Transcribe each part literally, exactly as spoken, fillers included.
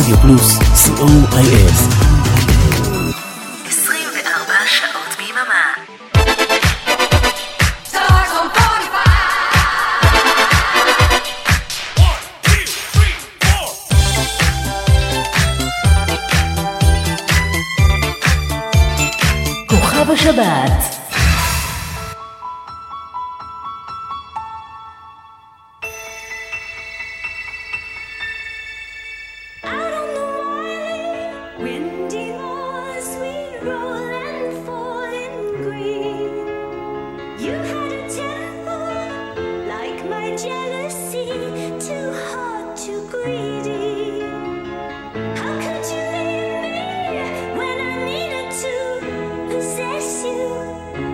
רדיו פלוס, סי או איי אס. עשרים וארבע שעות ביממה. כוכב השבת. When I needed to possess you,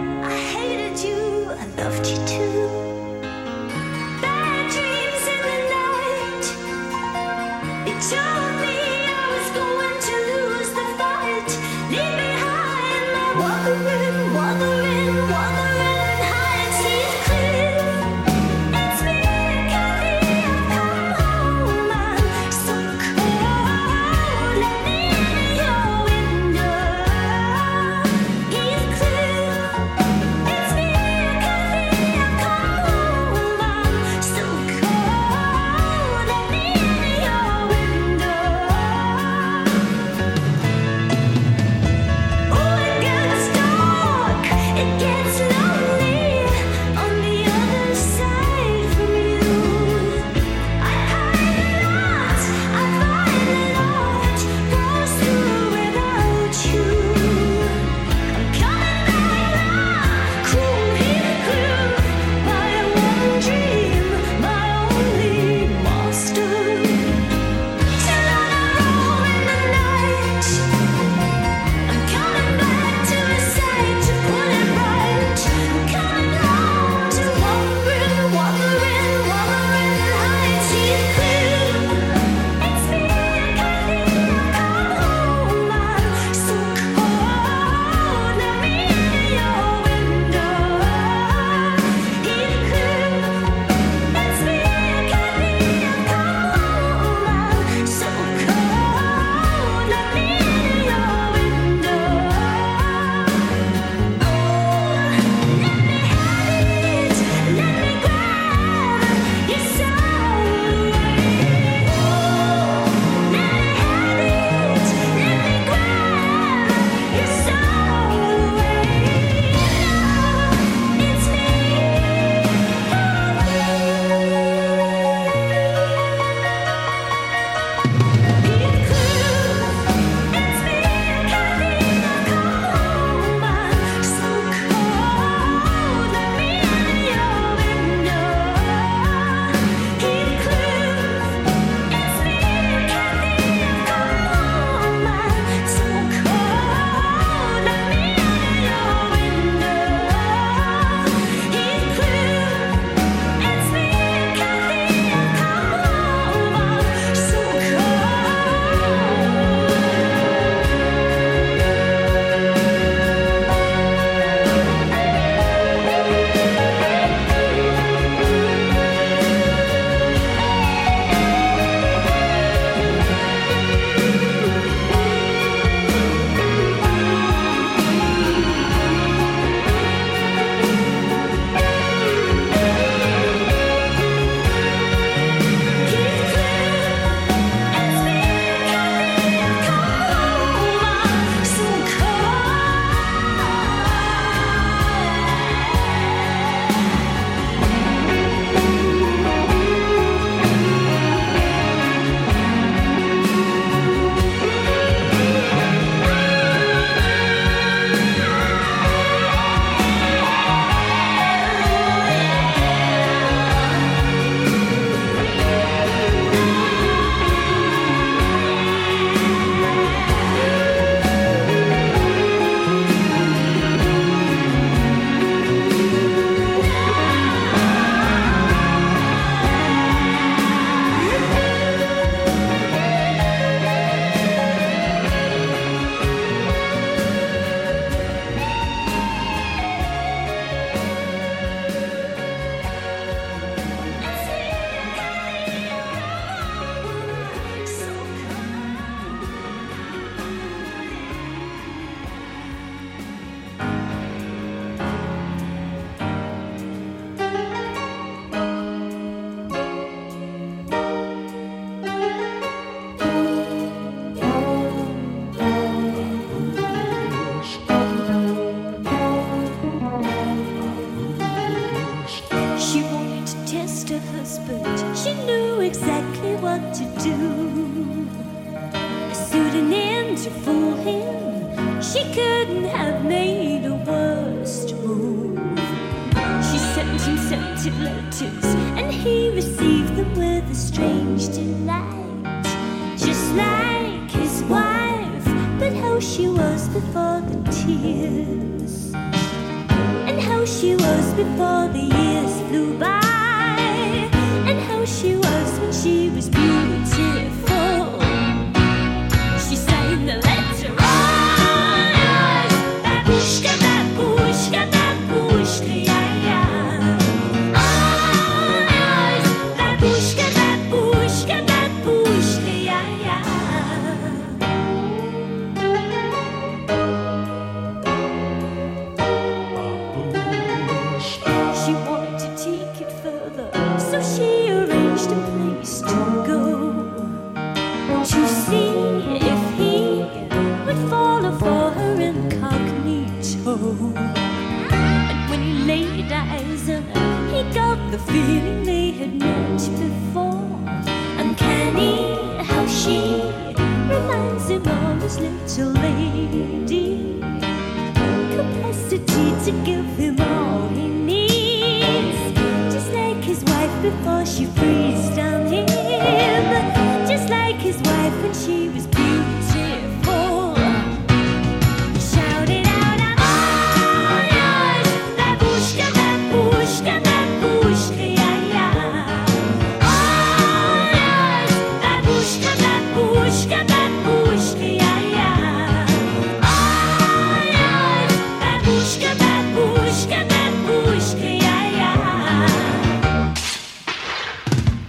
close, but she knew exactly what to do. A pseudonym to fool him, she couldn't have made a worse move. She sent him scented letters, and he received them with a strange delight. Just like his wife, but how she was before the tears, and how she was before the years flew by, and how she was when she was beautiful. She signed the letter, oh, babushka, babushka, babushka, yeah, yeah. Oh, babushka, babushka, babushka, yeah, yeah. She wanted to take it further, so she arranged a place to go, to see if he would follow for her incognito. And when he laid eyes on her, he got the feeling they had met before. Uncanny how she reminds him of his little lady, capacity to give him all he needs, just like his wife before she freezed on him, just like his wife when she was beautiful. He shouted out, I'm all yours, babushka, babushka, babushka, yeah, yeah. All yours, babushka, babushka, babushka, yeah, yeah. All yours, babushka, babushka, babushka, yeah, yeah.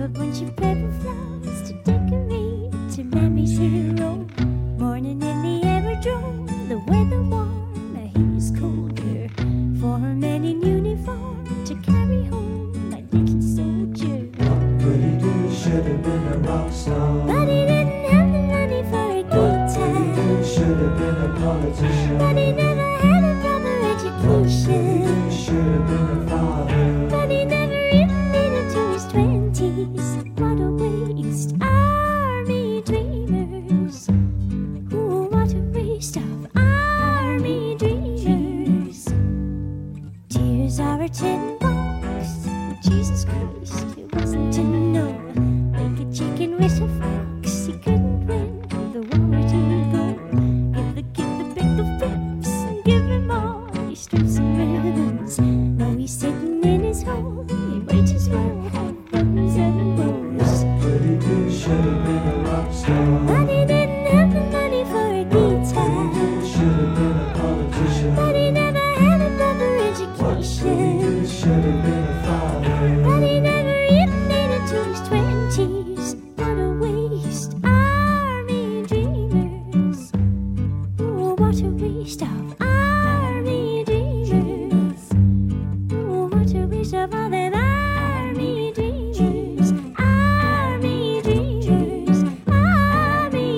bunch of purple flowers to decorate to Mammy's hero. Morning in the aerodrome, the weather warm, the heat is colder. For a man in uniform to carry home my little soldier. But he did, should have been a rock star. But he didn't have the money for a guitar. But he did, should have been a politician. But he never had a proper education. But he did, should have been a father. But he never even made it to his twenties. What a waste, army dreamers. Ooh, what a waste of army dreamers. Tears are a tin box. Jesus Christ, it wasn't to know. Like a chicken with a fox, he couldn't win the war to go. Give the kid the big of pips and give him all his strips and ribbons. Now he's sitting in his hole, he might as well have buttons and bows. But he did, should have been a rock star. But he didn't have the money for a guitar. But he did, should have been a politician. But he never had a proper But he education. did, should have been a father. But he never even made it to his twenties. What a waste, army dreamers. Oh, what a waste of army dreamers. Oh, what a waste of all them army dreamers. Army dreamers. Army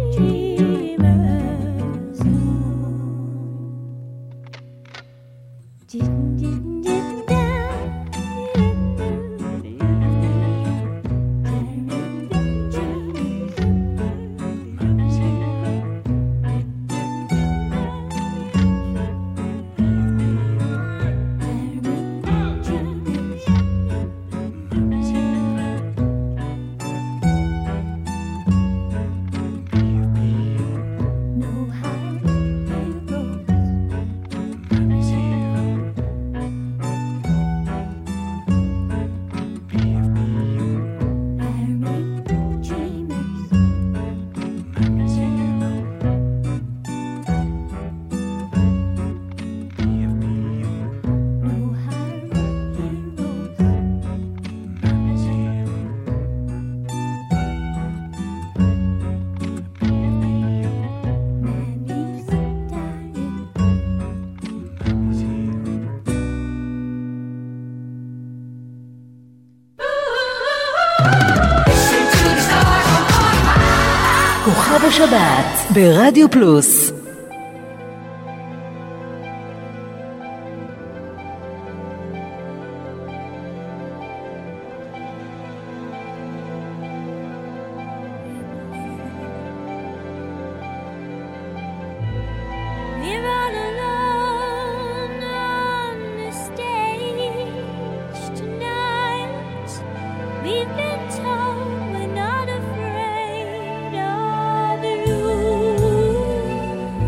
dreamers. Didn't, didn't, didn't, no high road. Army dreamers. No high heroes. Mammy's dying. כוכב השבת ברדיו פלוס. We're all alone on the stage tonight. We've been told we're not afraid of you.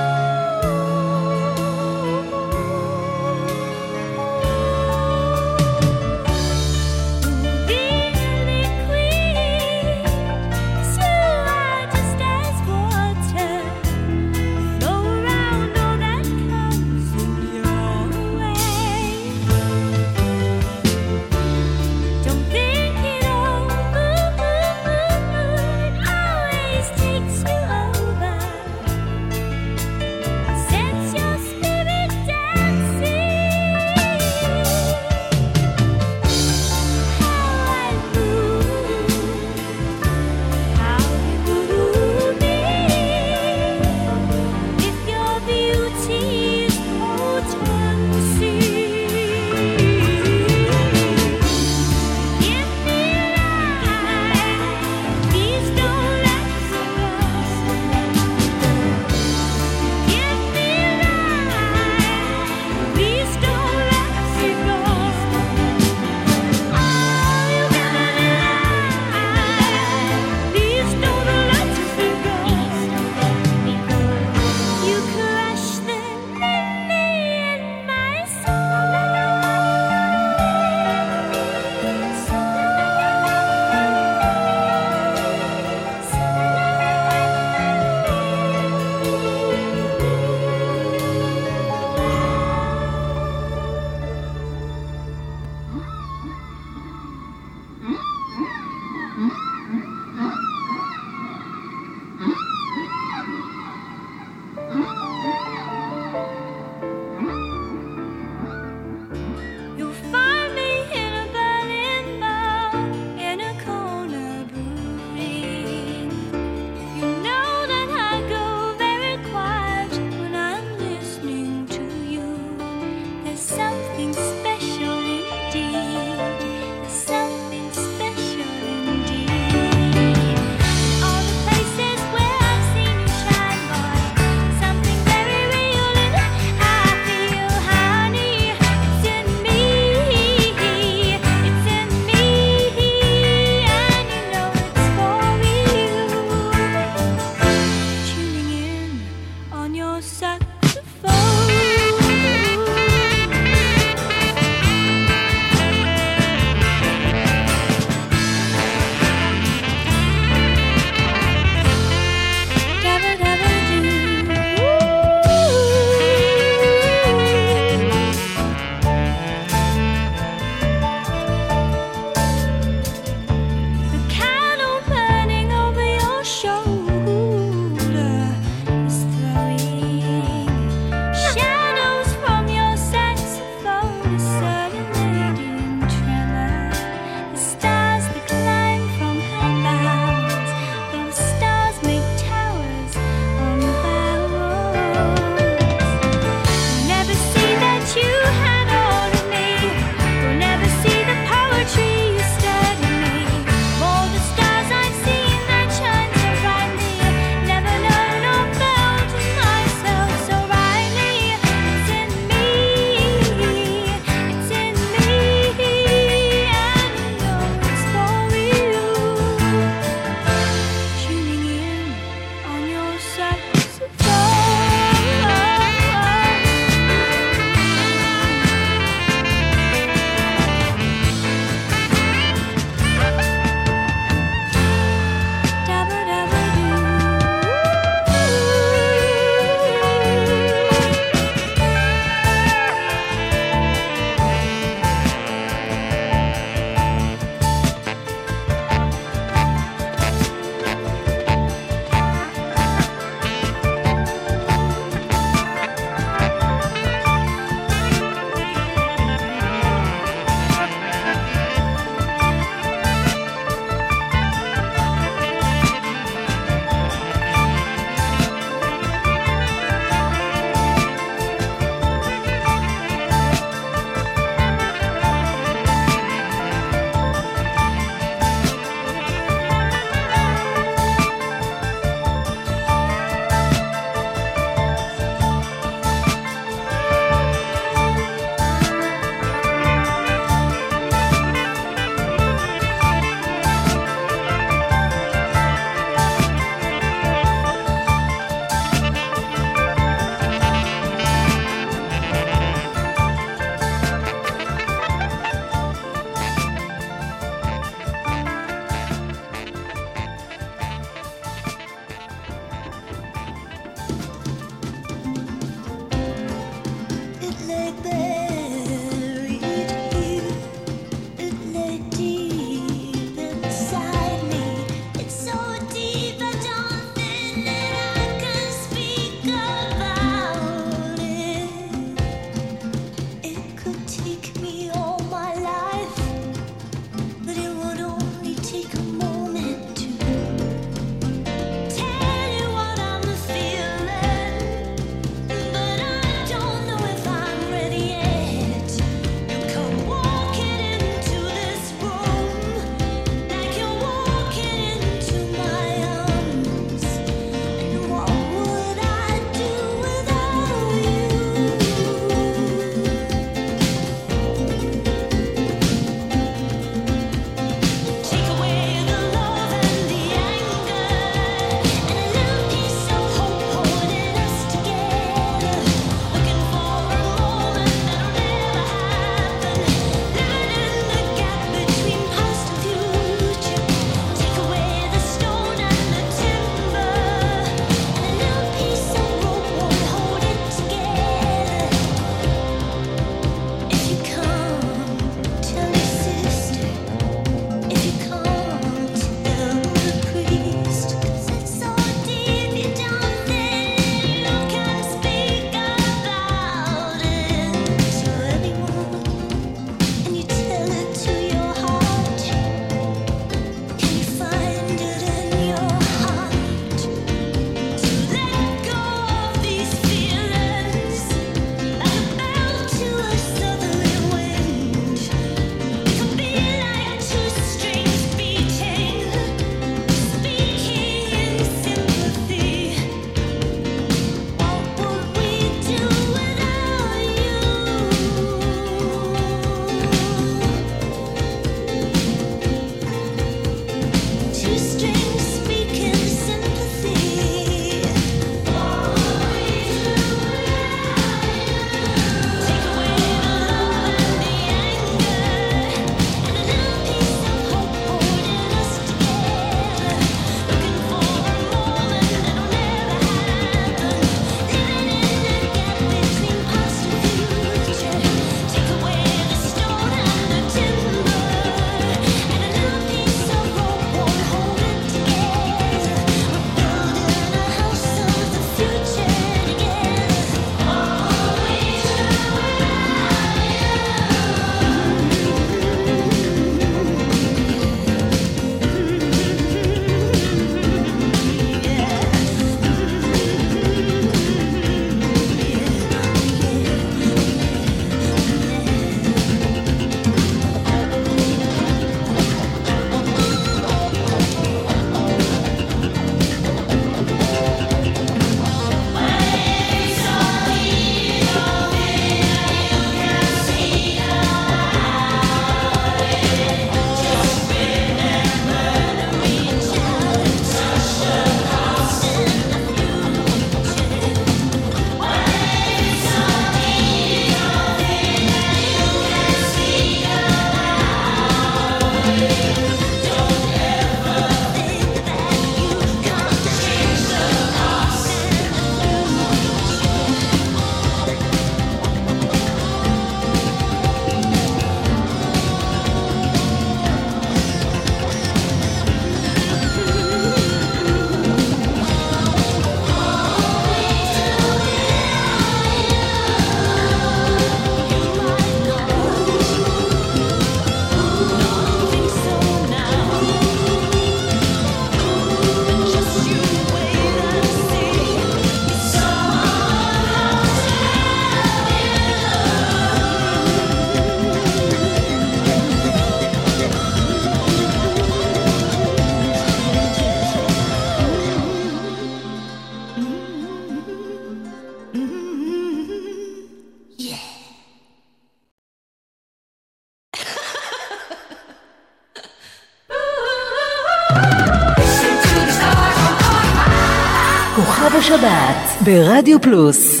כוכב השבת ברדיו פלוס.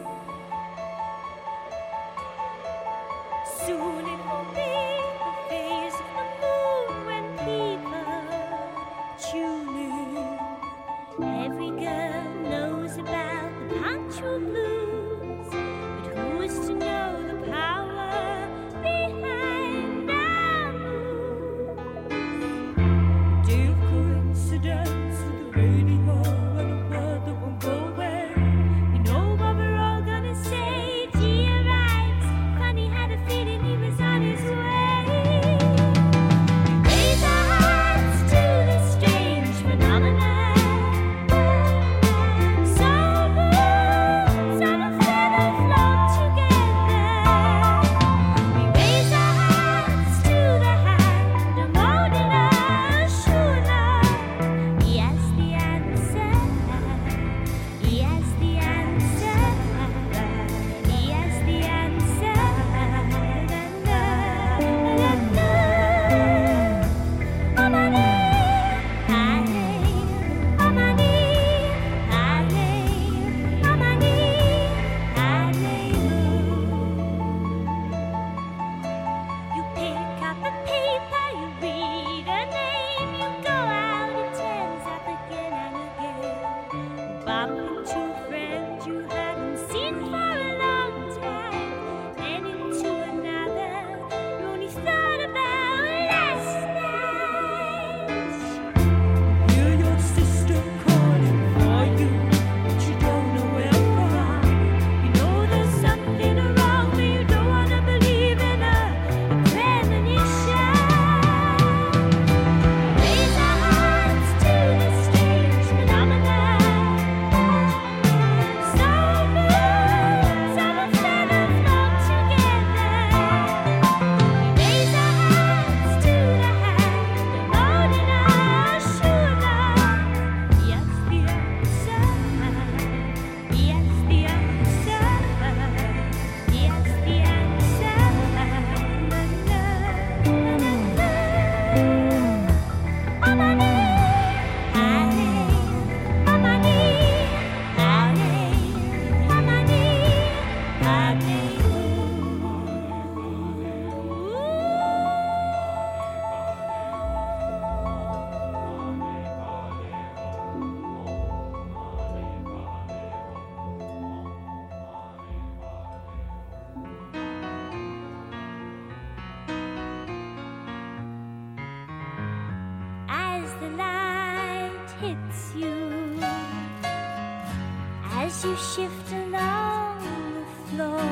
You shift along the floor.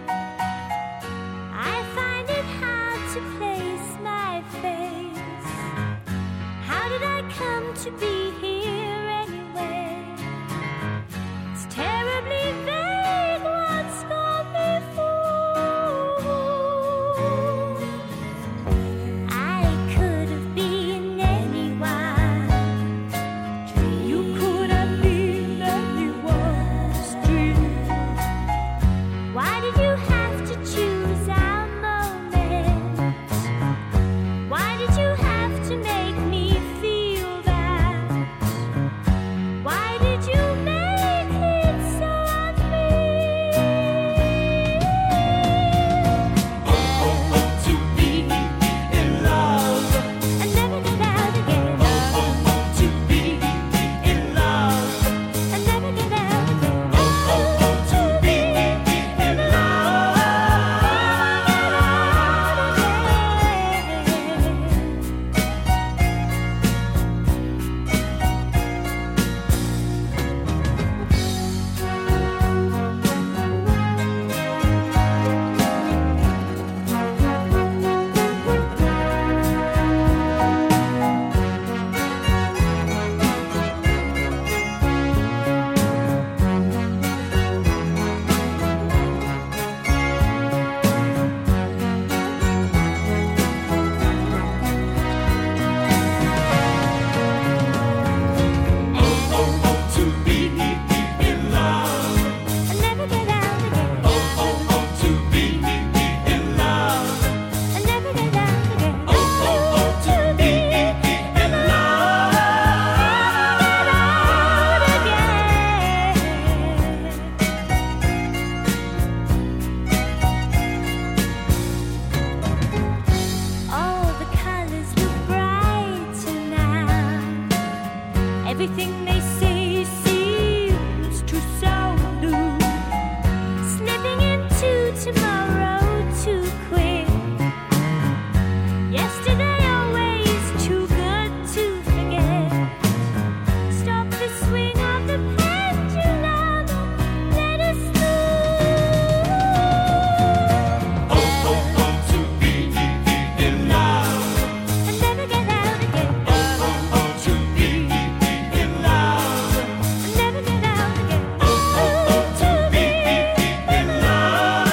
I find it hard to place my face. How did I come to be here anyway? It's terribly vague what's gone before. I could have been anyone. You could have been anyone. Why did you have to choose our moment? Why did you have to make me feel that? Everything they say seems to sound new. Slipping into tomorrow too quick. Yesterday always too good to forget. Stop the swing of the pendulum. Let us move. Oh, oh, oh, to be in love. And never get out again. Oh, oh, oh, to be in love. And never get out again. Oh, oh, oh, to be in love.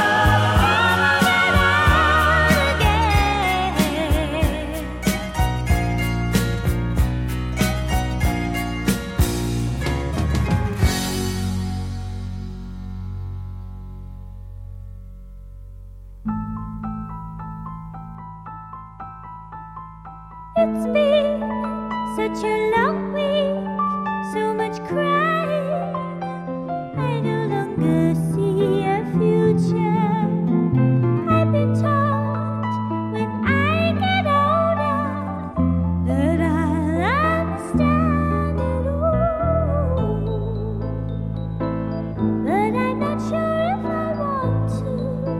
It's been such a long week, so much crying. I no longer see a future. I've been taught when I get older that I'll understand it all. But I'm not sure if I want to.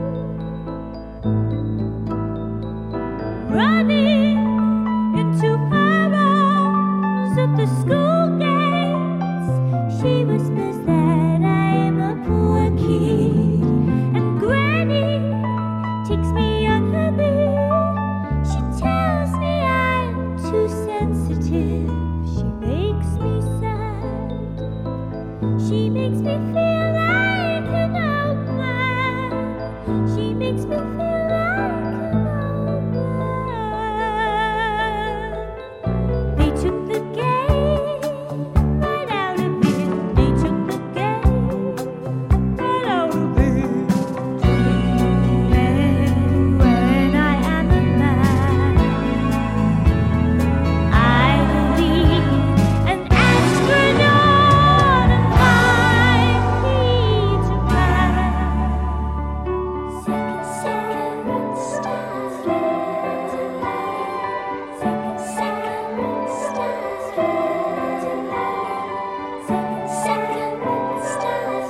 Running into her arms at the school gates, she whispers that I'm a poor kid, and Granny takes me on her knee. She tells me I'm too sensitive. She makes me sad. She makes me feel like an old man. She makes me feel like an old man. They took the game right out of me. They took the game right out of me. And when I am a man, I will be an astronaut and fly Peter Pan. Second, second stars, second, second stars, second, second stars.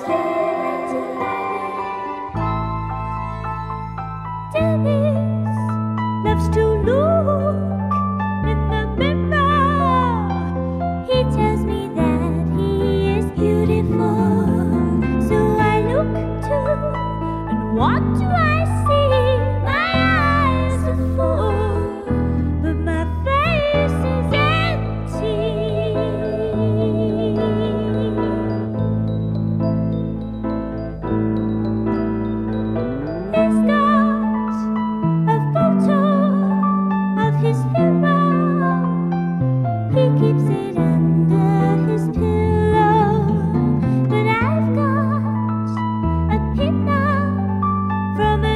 Dennis loves to look in the mirror. He tells me that he is beautiful. So I look too, and what do I see? My eyes are full, but my face is empty. He's got a photo of his hero. He keeps it under his pillow. But I've got a pin-up from a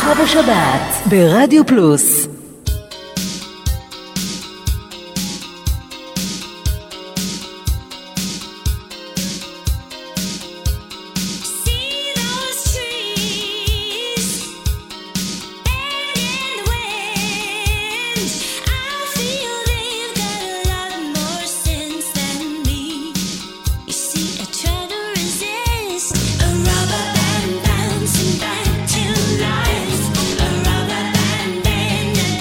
איתך בשבת ברדיו פלוס. Rubber band bouncing back to life. A rubber band band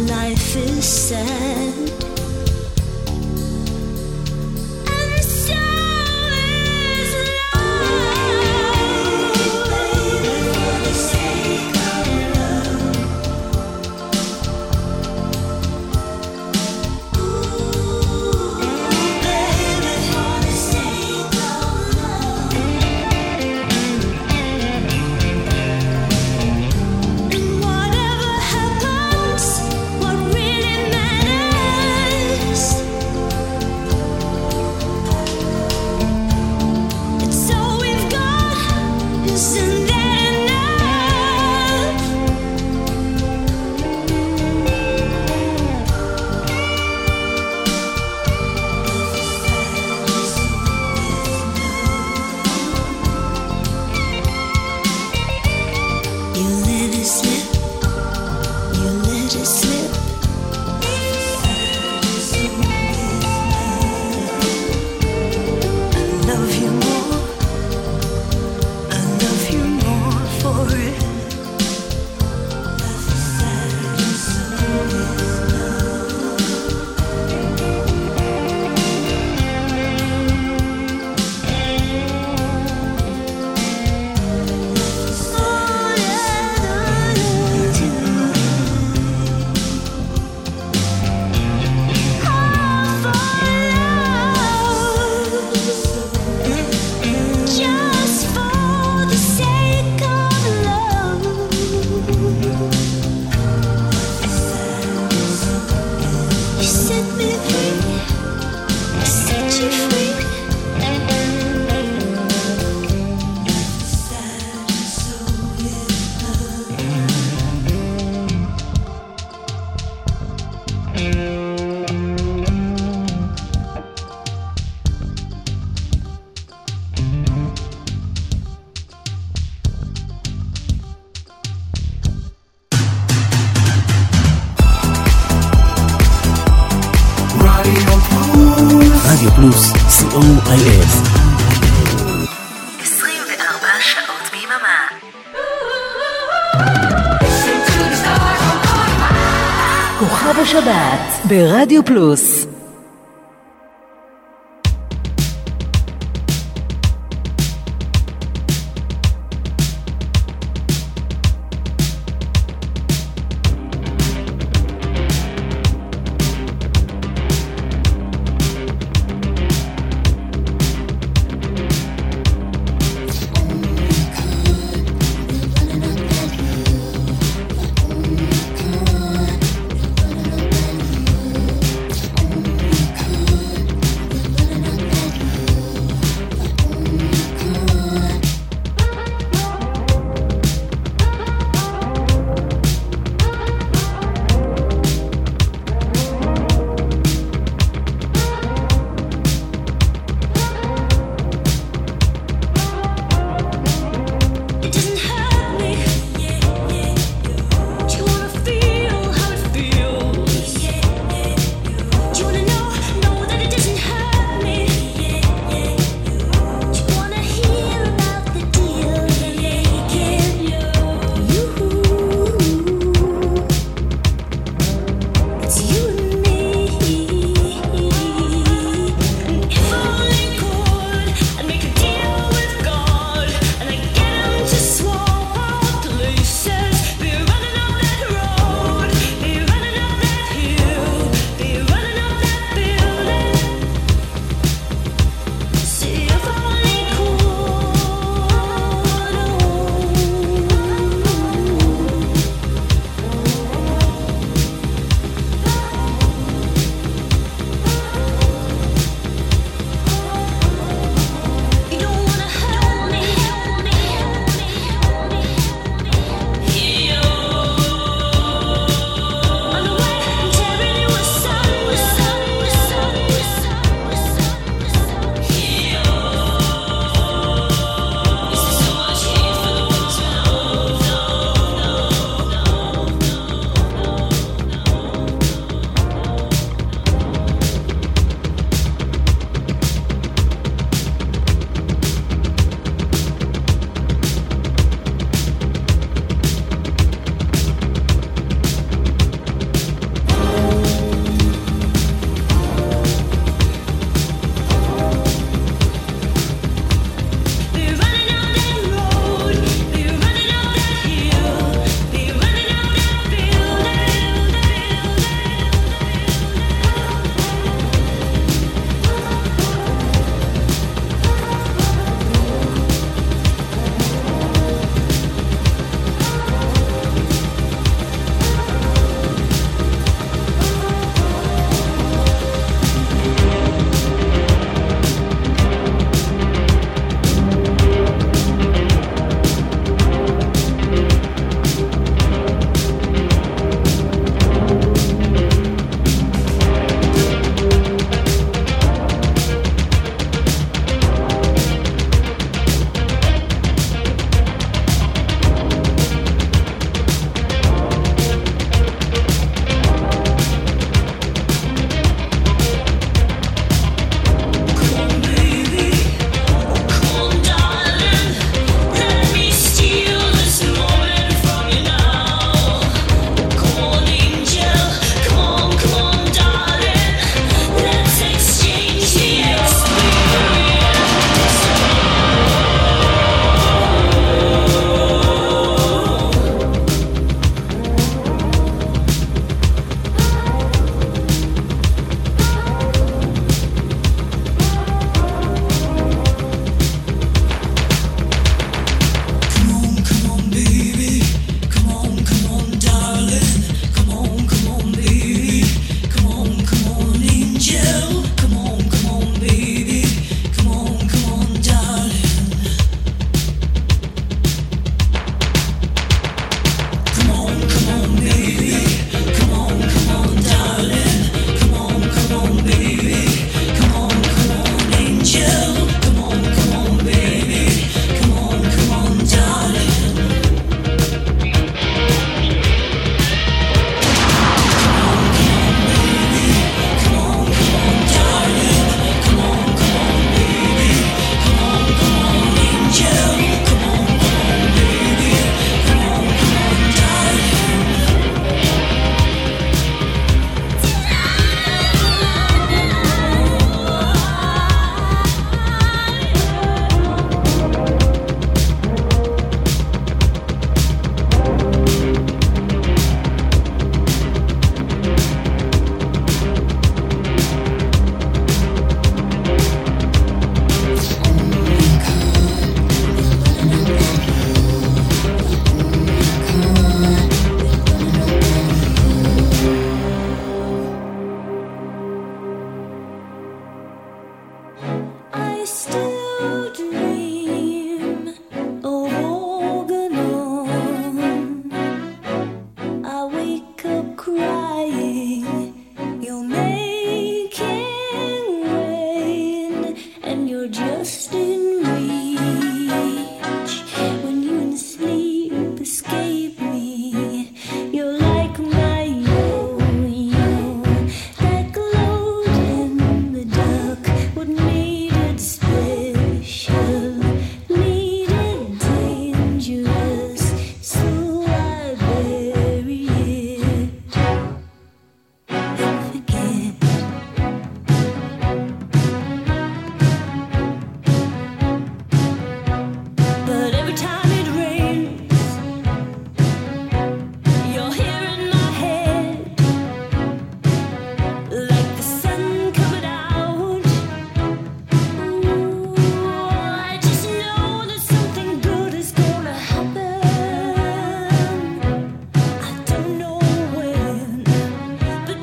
life is sad. And so is love. Baby, for the sake of love. Ooh, baby, for the sake of love. And whatever happens, what really matters, it's all we've got. Isn't that enough? You let it slip, you let it slip. I love you more, I love you more for it. All that I do, just for the sake of love. You set me free, I set you free. רדיו פלוס, סי או איי אס. עשרים וארבע שעות ביממה. כוכב השבת ברדיו פלוס.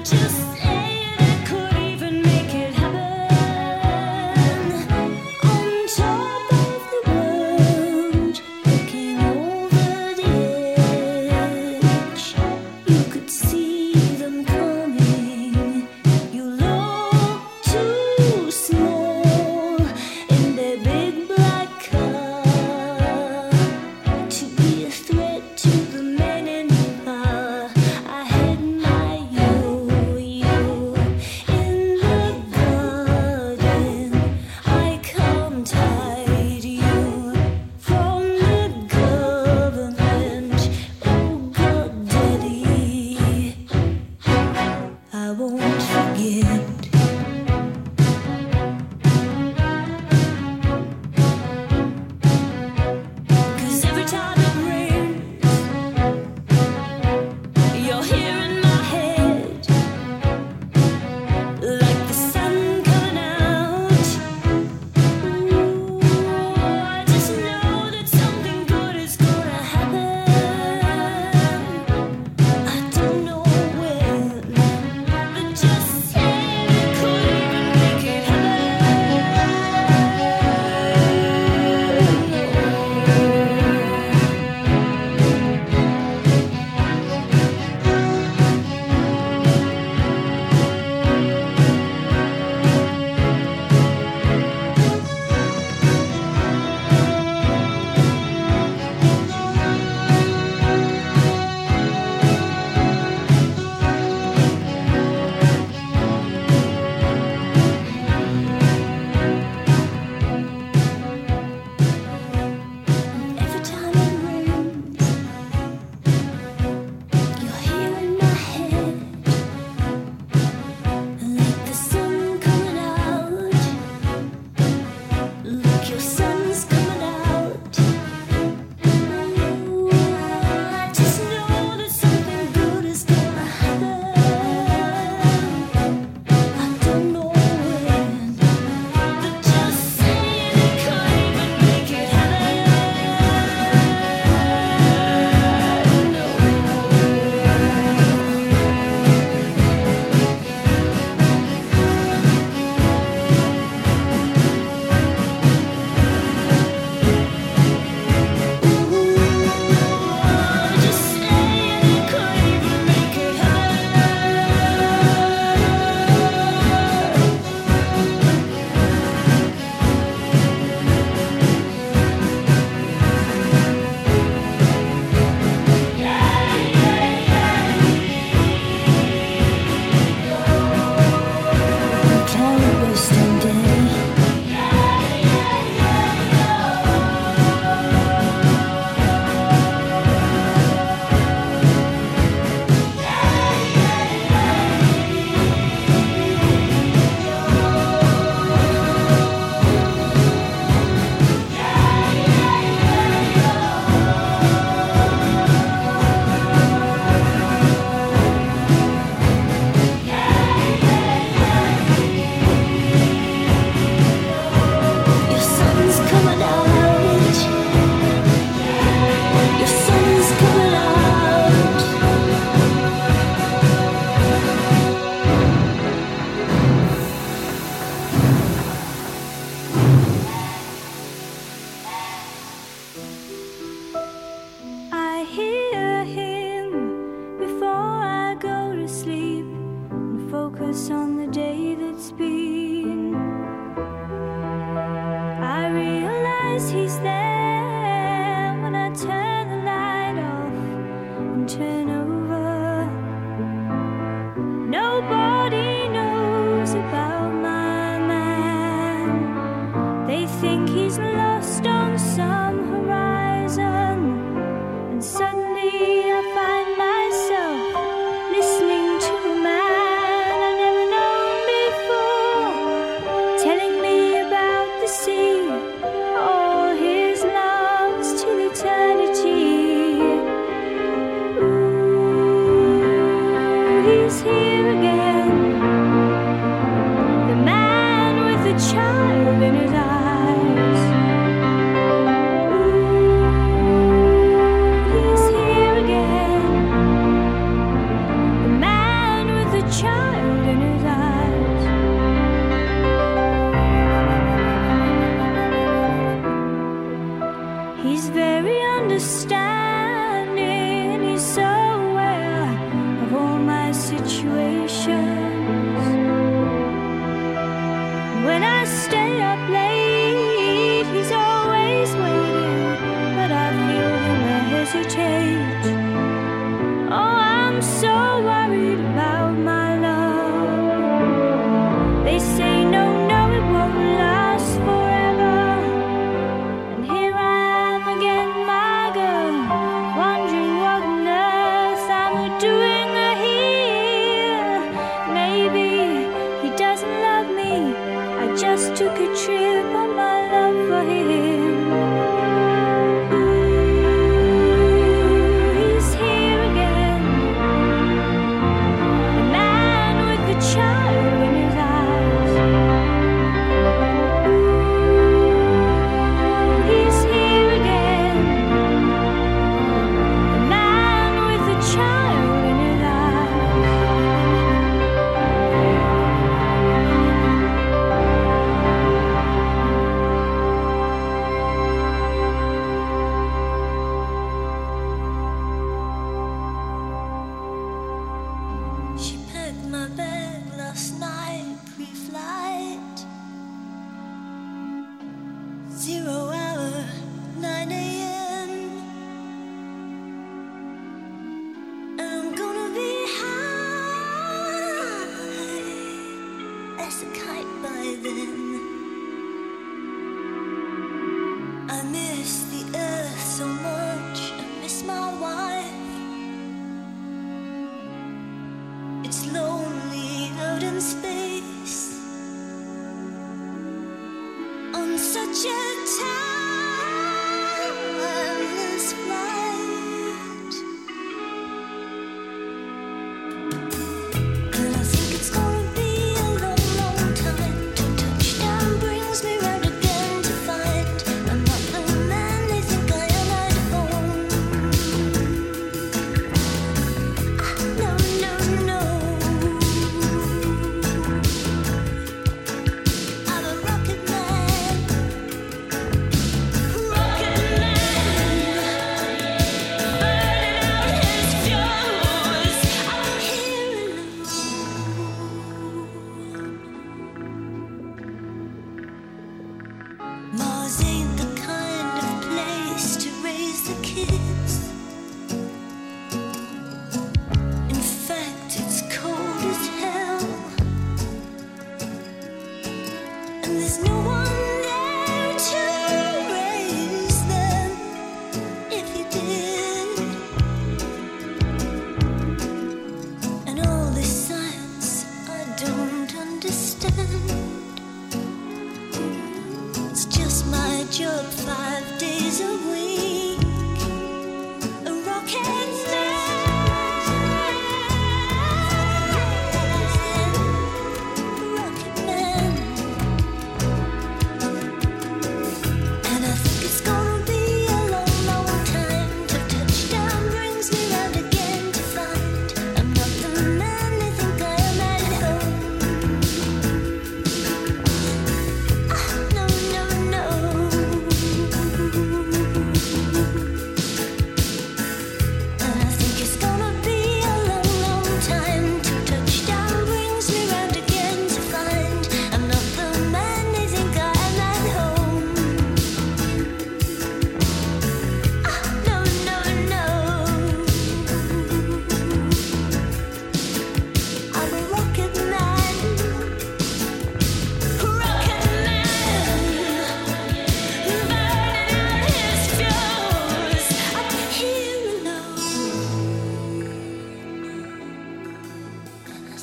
Before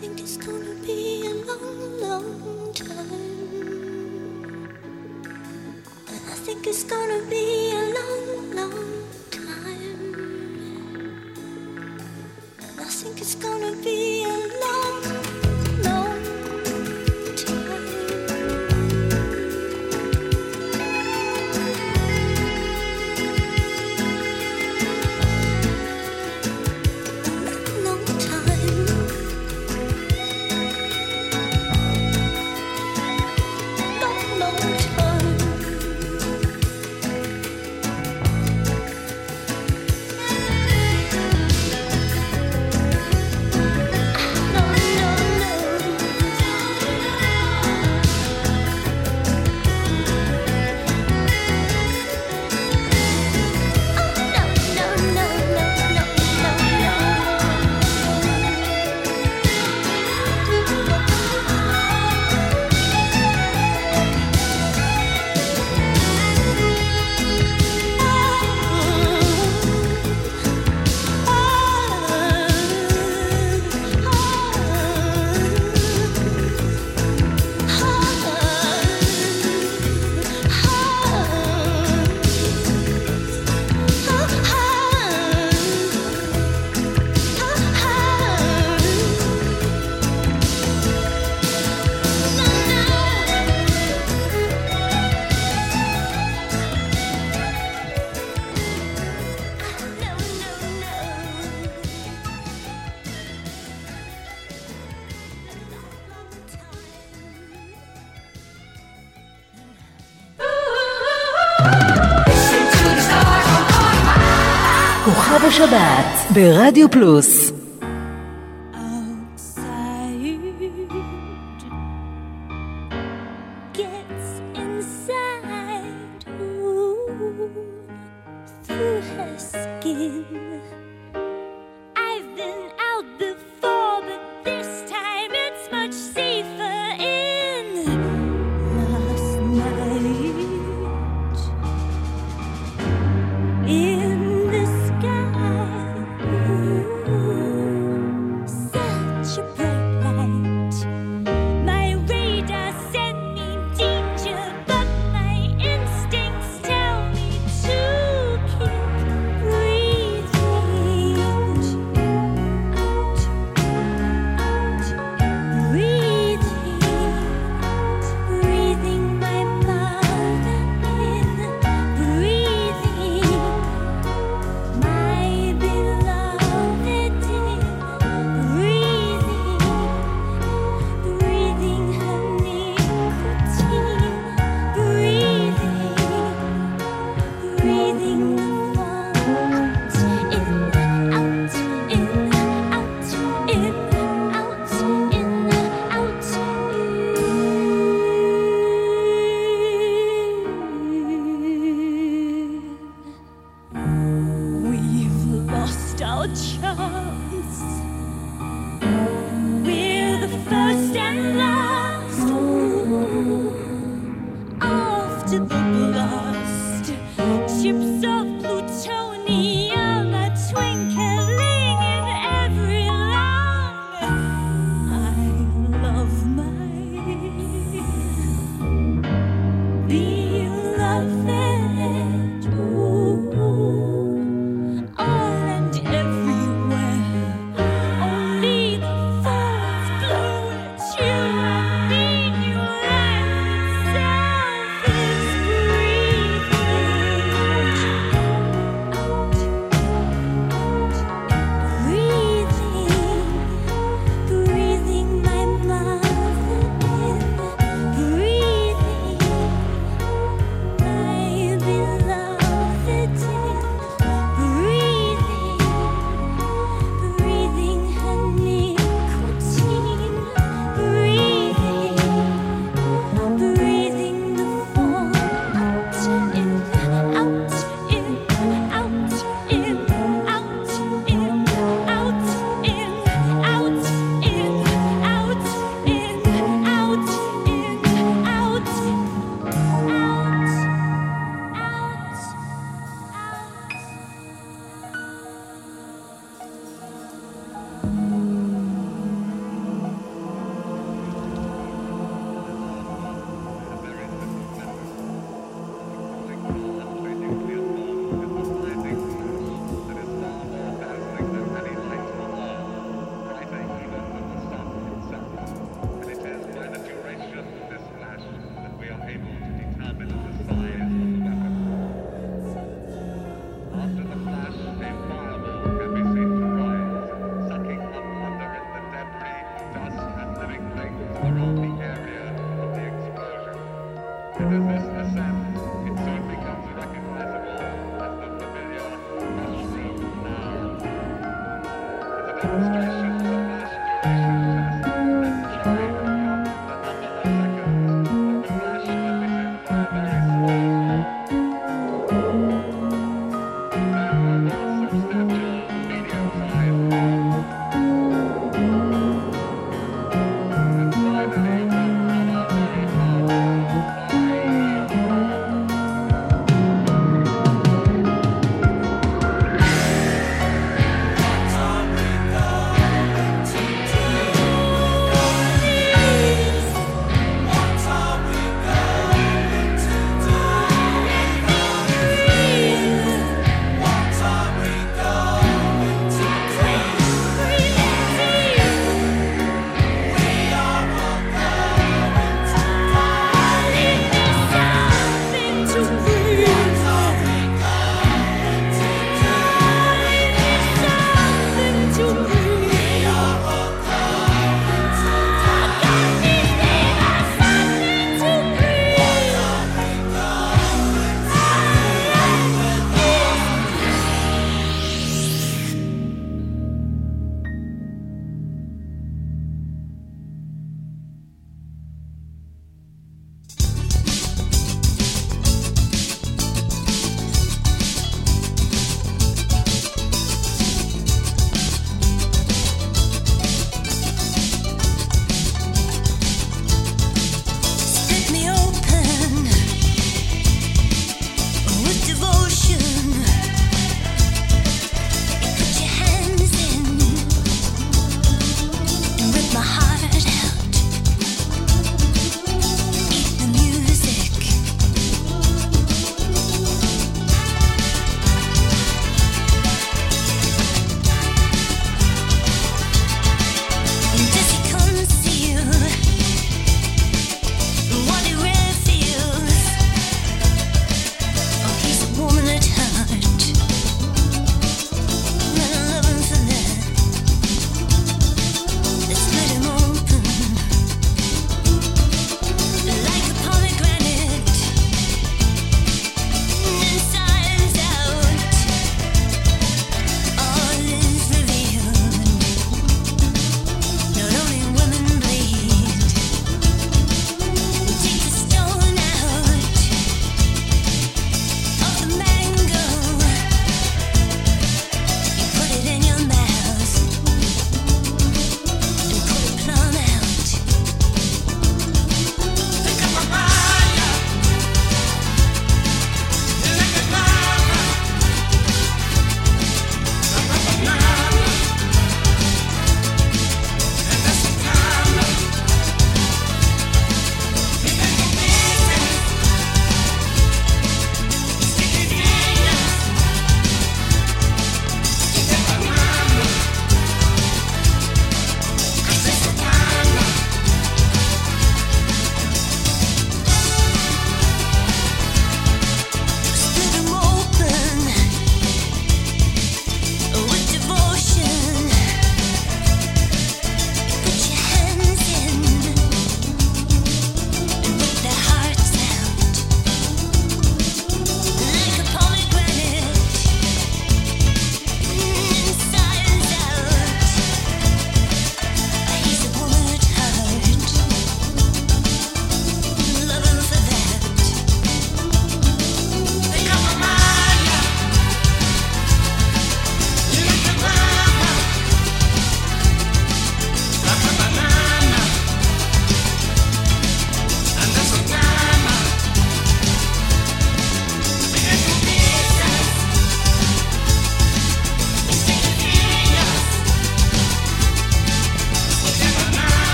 think it's gonna be a long, long time. And I think it's gonna be a long, long time. And I think it's gonna be a long, long כוכב השבת ברדיו פלוס. breathe.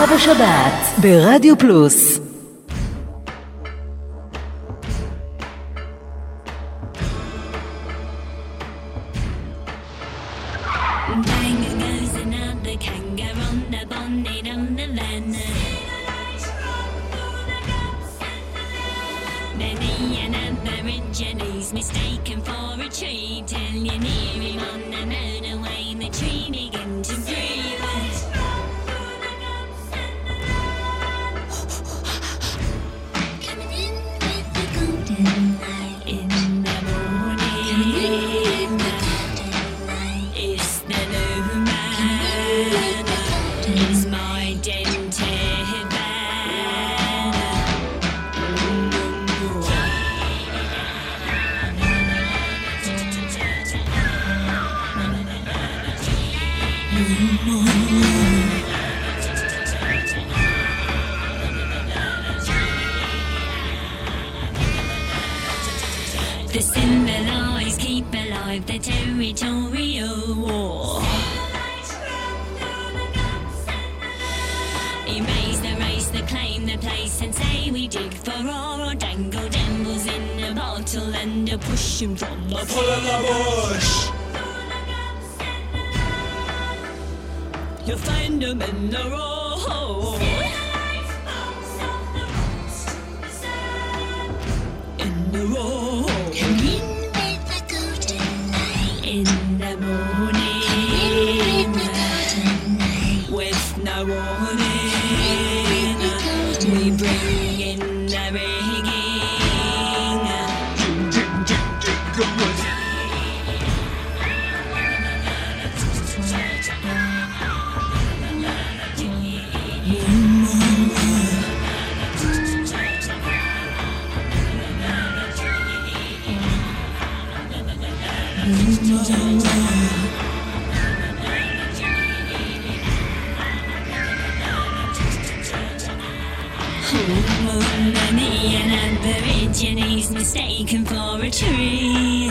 כוכב השבת ברדיו פלוס. Mistaken for a tree till you're near him on the motorway, the tree begins to breathe. Coming in with the golden light in the morning. It's the new man. It's my dented van. The symbolize keep alive the territorial war. Erase the race, the claim the place, and say we dig for ore or dangle devils in a bottle and a push 'em from the pull of the bush. You'll find 'em in the road. In the road. Come in with the golden light. In the morning. Come in with the golden light. With no warning. We bring in the rigging. An Aborigines mistaken for a tree.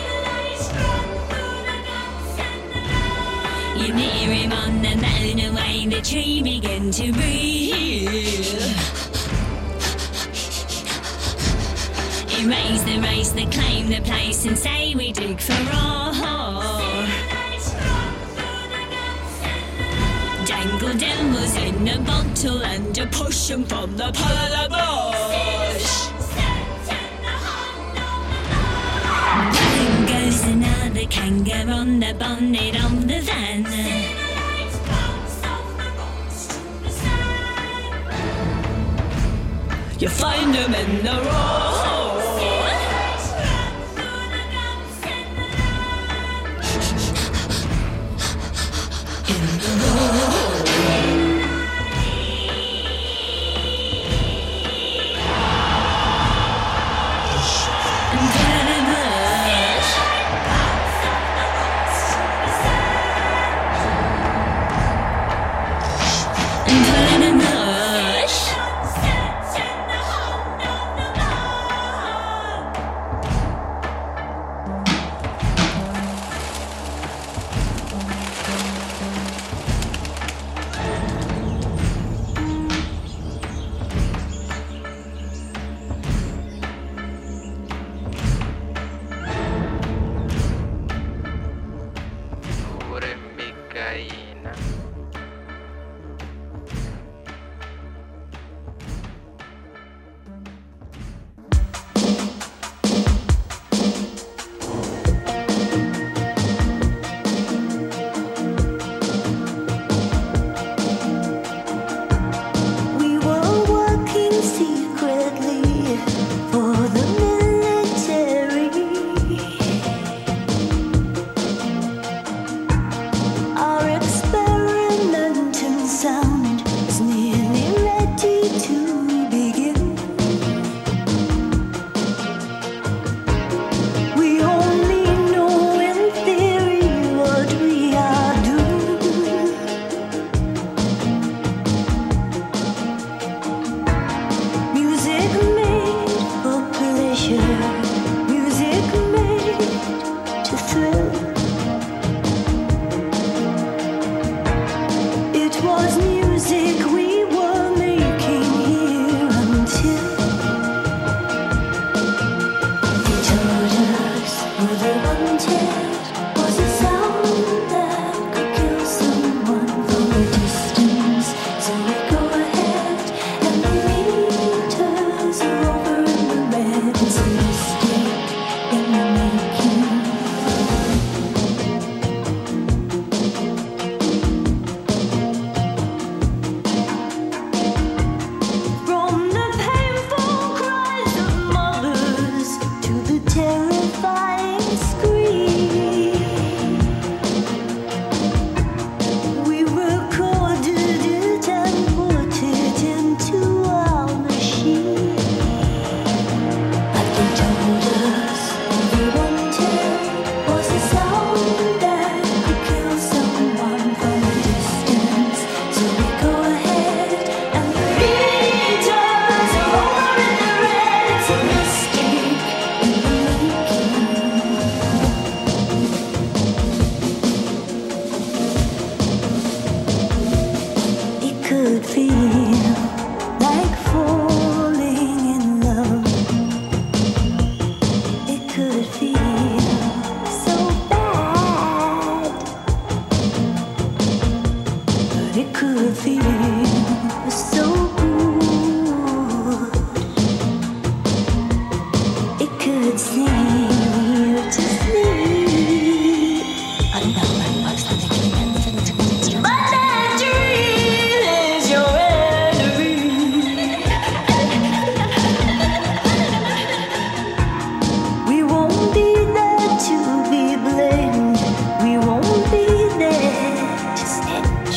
You near him on the motorway, the tree begin to breathe. Erase the race, the claim the place, and say we dig for ore. Dangle devils in a bottle and to push 'em from the polar bush. Bang goes another kangaroo on the bonnet of the van. You find 'em in the road. In the road. feel like falling in love. It could feel so bad, but it could feel so good. It could sing you to sleep. But that dream is your enemy. We won't be there to be blamed. We won't be there to snitch.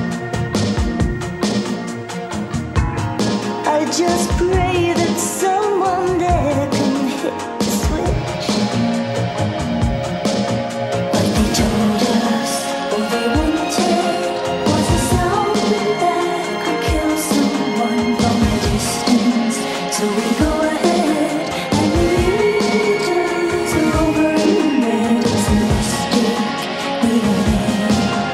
I just pray that someone there can hit the switch. What they told us, all they wanted, was a sound that could kill someone from a distance. So we go ahead and the meters are over in red. It's a mistake. We were there.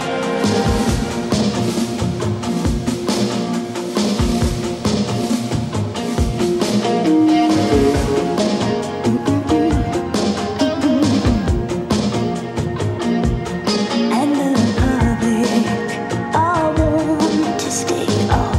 And the public, I want to stay off.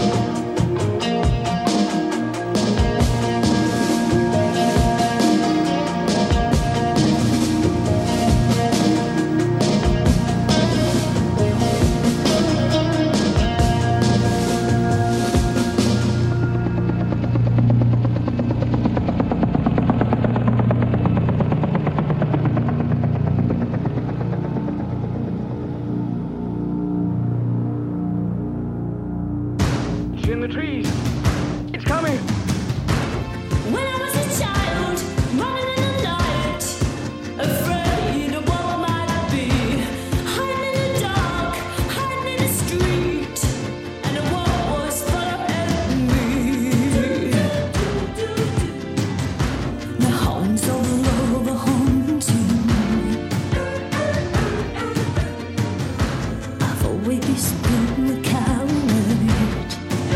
It's in the trees. It's coming. When I was a child, running in the night, afraid of what might be, hiding in the dark, hiding in the street, and the world was full of enemy. The hounds of love are haunting. I've always been a coward,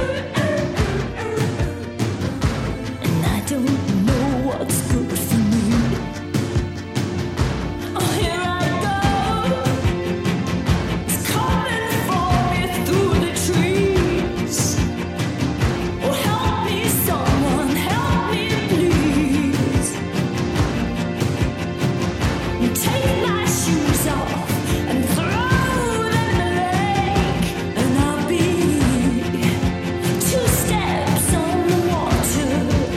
and I don't know what's good for me. Oh, here I go. It's coming for me through the trees. Oh, help me, someone, help me, please. You take my shoes off and throw them in the lake, and I'll be two steps on the water.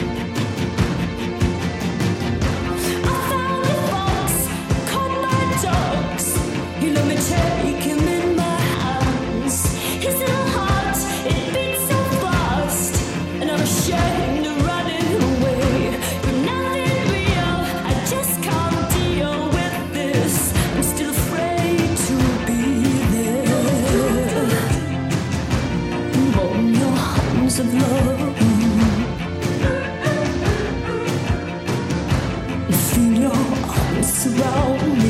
I found the fox, caught my ducks. He let me take him in my hands. His little heart, it beats so fast, and I'm ashamed of running away. You're nothing real, I just can't deal with this. I'm still afraid to be there. On your arms of love, feel your arms surround me.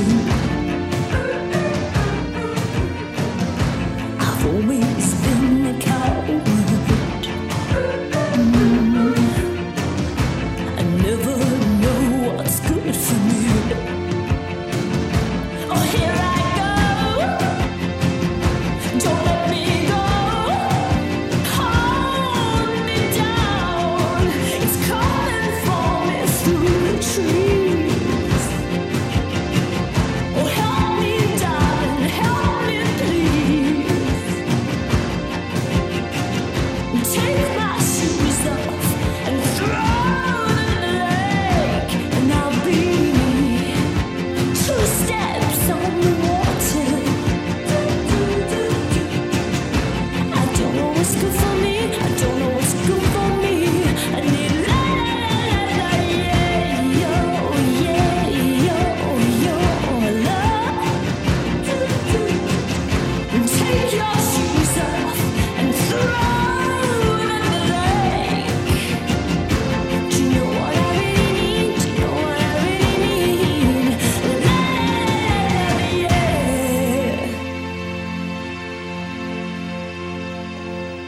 I've always been a coward. Mm. I never know what's good for me. Oh, here I go. Don't let me go. Hold me down. It's coming for me through the trees. Oh, help me, darling, help me, please. Take my shoes off and throw them in the lake, and I'll be two steps on the water. I don't know what's good for me. I don't know what's good for me. I need la la la la yeah, yo, yeah, yo, yo, love. Take your shoes off and throw them in the lake. Do you know what I really need? Do you know what I really need? La la la la yeah.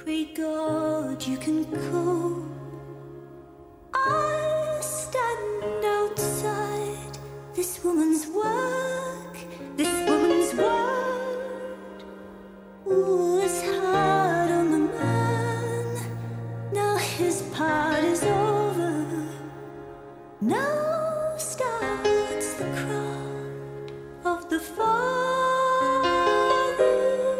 Great God, you can call. I stand outside this woman's work, this woman's word was hard on the man. Now his part is over. Now starts the crowd of the Father.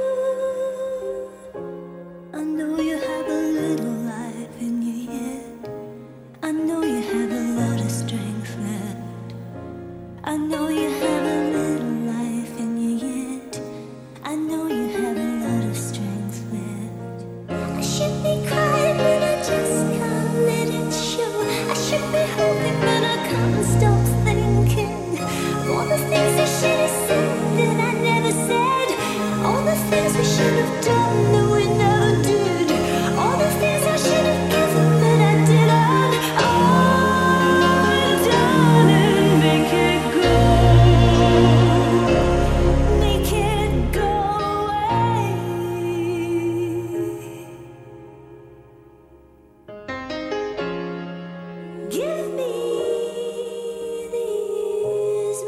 I know you have a little life in you yet. I know you have a lot of strength left. I know you have a little life in you yet. I know you have a lot of strength left. I should be crying, but I just can't let it show. I should be hoping, but I can't stop thinking. All the things I should have said that I never said. All the things we should have done that we never did. All the things I should have given that I didn't. Oh, darling, make it go. Make it go away. Give me these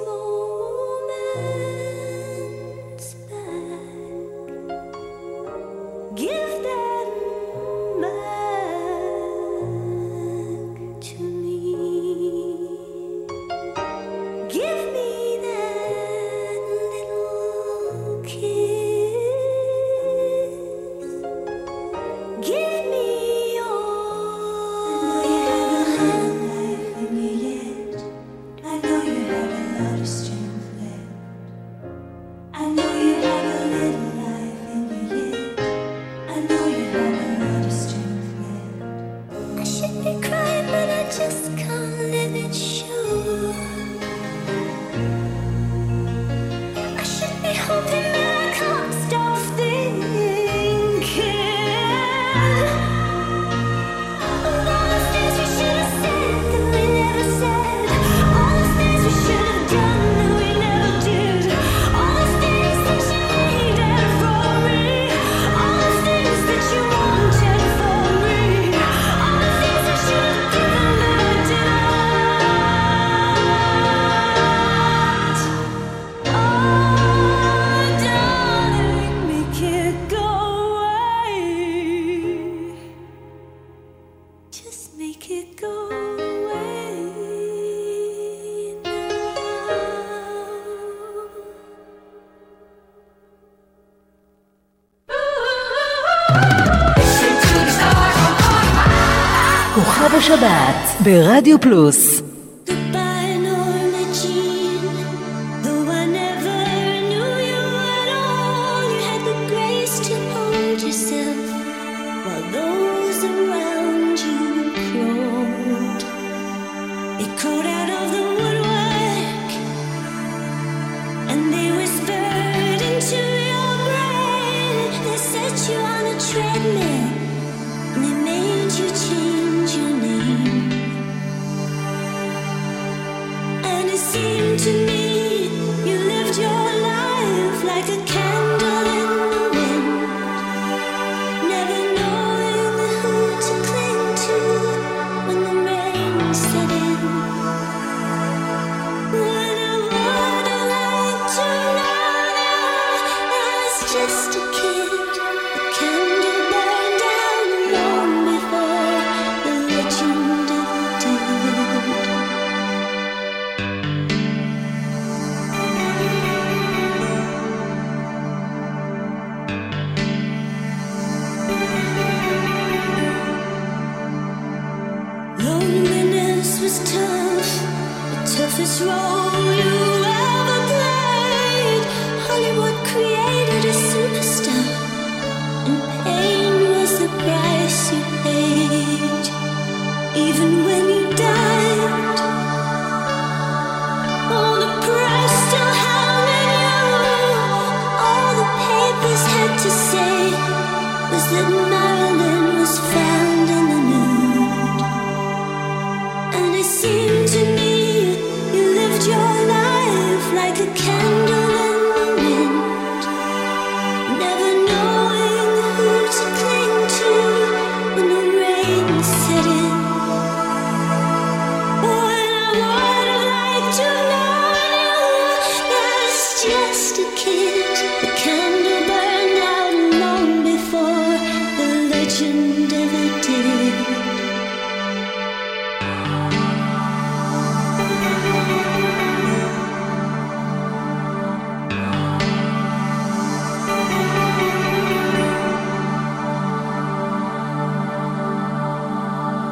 moments back. Give them back to me. Give me that little kiss. Give me all. I know you have a lot of strength left. I know you have a little life in you yet. I know you have a lot of strength left. I should be crying, but I just can't let it show. I should be hoping, but I can't stop thinking. All the things we should have said that we never said. All the things we should have done that we never did. All the things that you needed from me. All the things that you wanted from me. All the things I should have given that I didn't. Oh, darling, make it go away. Just make it go away now. כוכב השבת ברדיו פלוס. Goodbye, Norma Jean. Though I never knew you at all, you had the grace to hold yourself while those around you crawled. They crawled out of the woodwork and they whispered into your brain. They set you on a treadmill and they made you change your name. And it seemed to me you lived your life like a candle in the wind, never knowing who to cling to when the rain set in. What I would like to know now, as just a kid, the candle burned out long before the legend ever did. Loneliness was tough, the toughest role you ever played. Hollywood created a superstar, and pain was the price you paid. Even when you died, all the press still hounded you. All the papers had to say was that Marilyn was found in the nude. And it seemed to me you lived your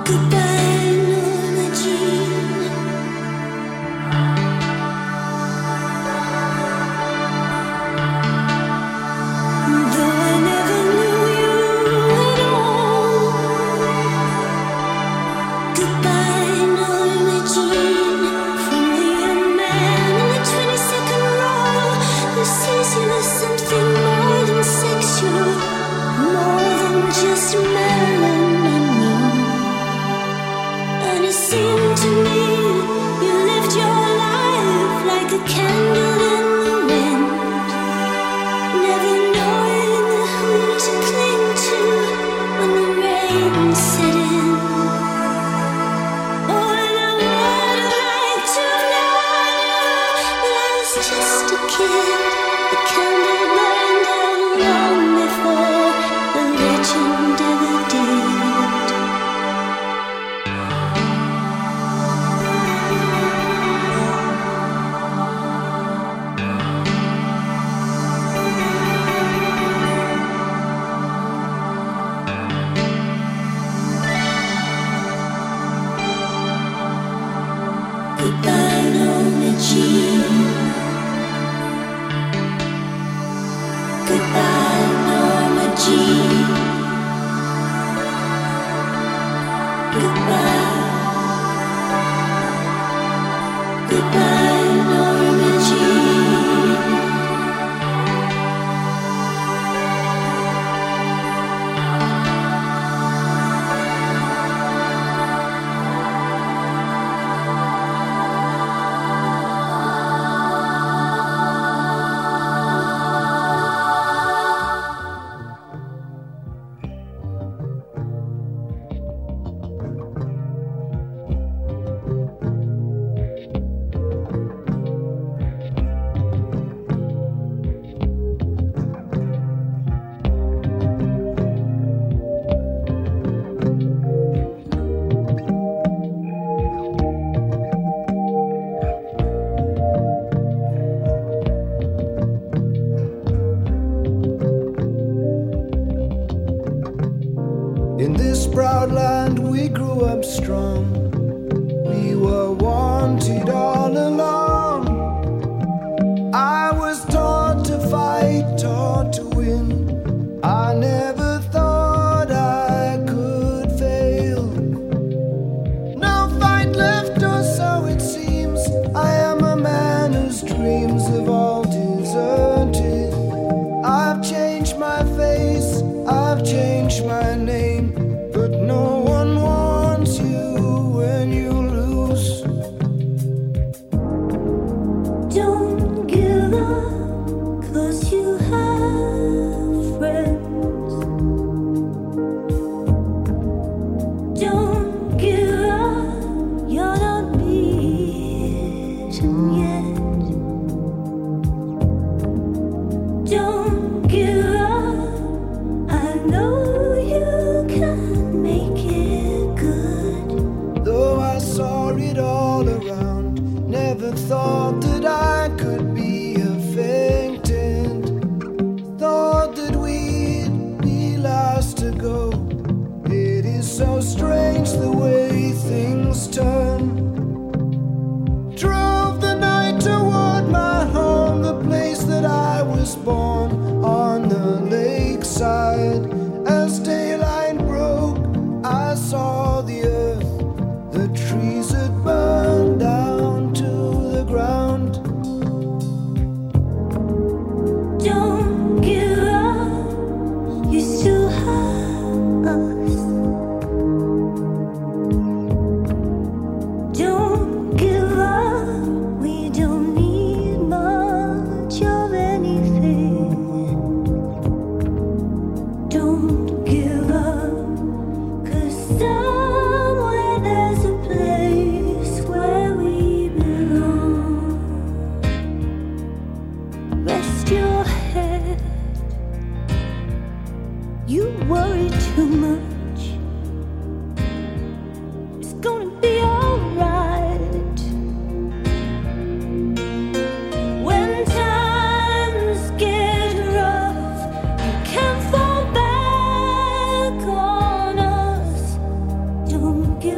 Don't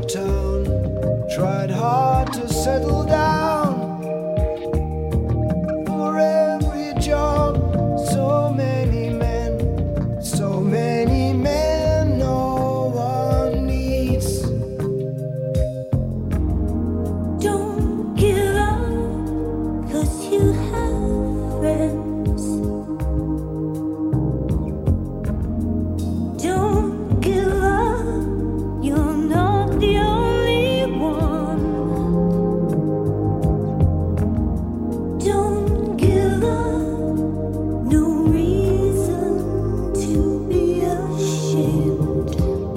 town, tried hard to settle down. For every job, so many men, so many men no one needs. Don't give up, 'cause you have friends. Don't give up, you're not the only one. Don't give up, no reason to be ashamed.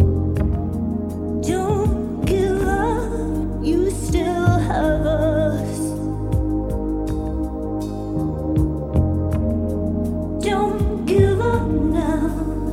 Don't give up, you still have us. Don't give up now.